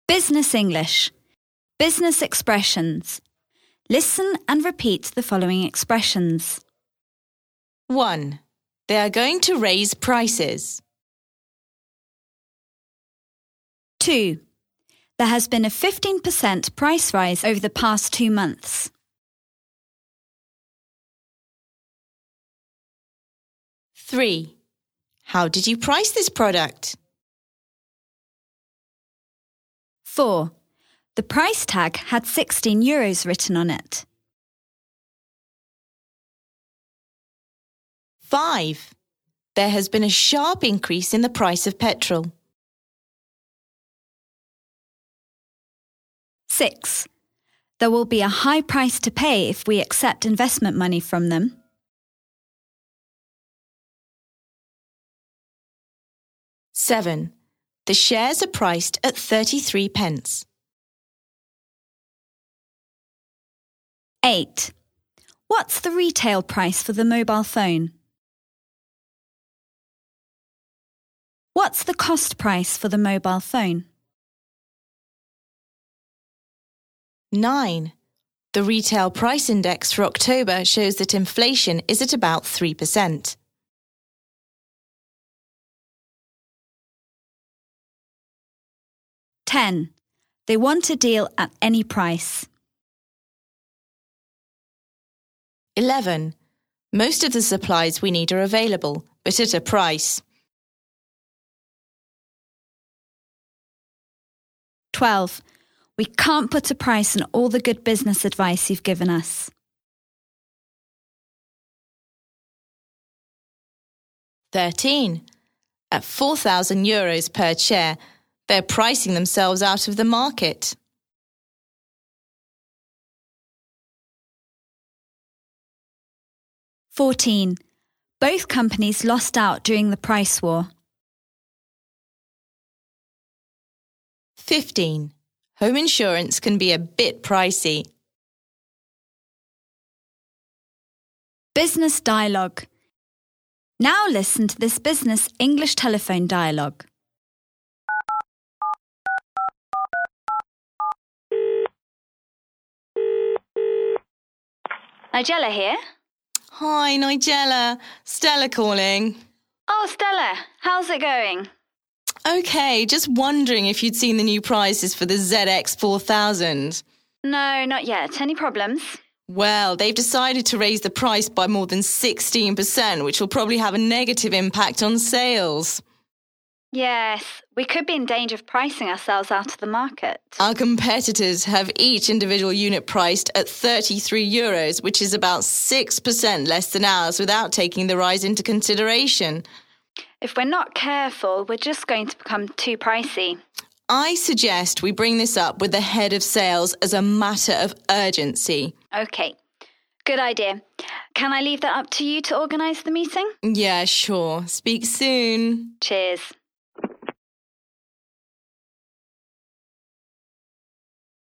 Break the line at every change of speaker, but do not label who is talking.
Business English. Business expressions. Listen and repeat the following expressions.
1. They are going to raise prices.
2. There has been a 15% price rise over the past 2 months.
3. How did you price this product?
4. The price tag had €16 written on it.
5. There has been a sharp increase in the price of petrol.
6. There will be a high price to pay if we accept investment money from them.
7. The shares are priced at 33 pence.
8. What's the retail price for the mobile phone? What's the cost price for the mobile phone?
9. The retail price index for October shows that inflation is at about 3%.
10. They want a deal at any price.
11. Most of the supplies we need are available, but at a price.
12. We can't put a price on all the good business advice you've given us.
13. At €4,000 per chair, they're pricing themselves out of the market.
14. Both companies lost out during the price war.
15. Home insurance can be a bit pricey.
Business dialogue. Now listen to this business English telephone dialogue. Nigella here.
Hi, Nigella. Stella calling.
Oh, Stella, how's it going?
Okay, just wondering if you'd seen the new prices for the ZX4000.
No, not yet. Any problems?
Well, they've decided to raise the price by more than 16%, which will probably have a negative impact on sales.
Yes, we could be in danger of pricing ourselves out of the market.
Our competitors have each individual unit priced at €33, which is about 6% less than ours without taking the rise into consideration.
If we're not careful, we're just going to become too pricey.
I suggest we bring this up with the head of sales as a matter of urgency.
Okay, good idea. Can I leave that up to you to organise the meeting?
Yeah, sure. Speak soon.
Cheers.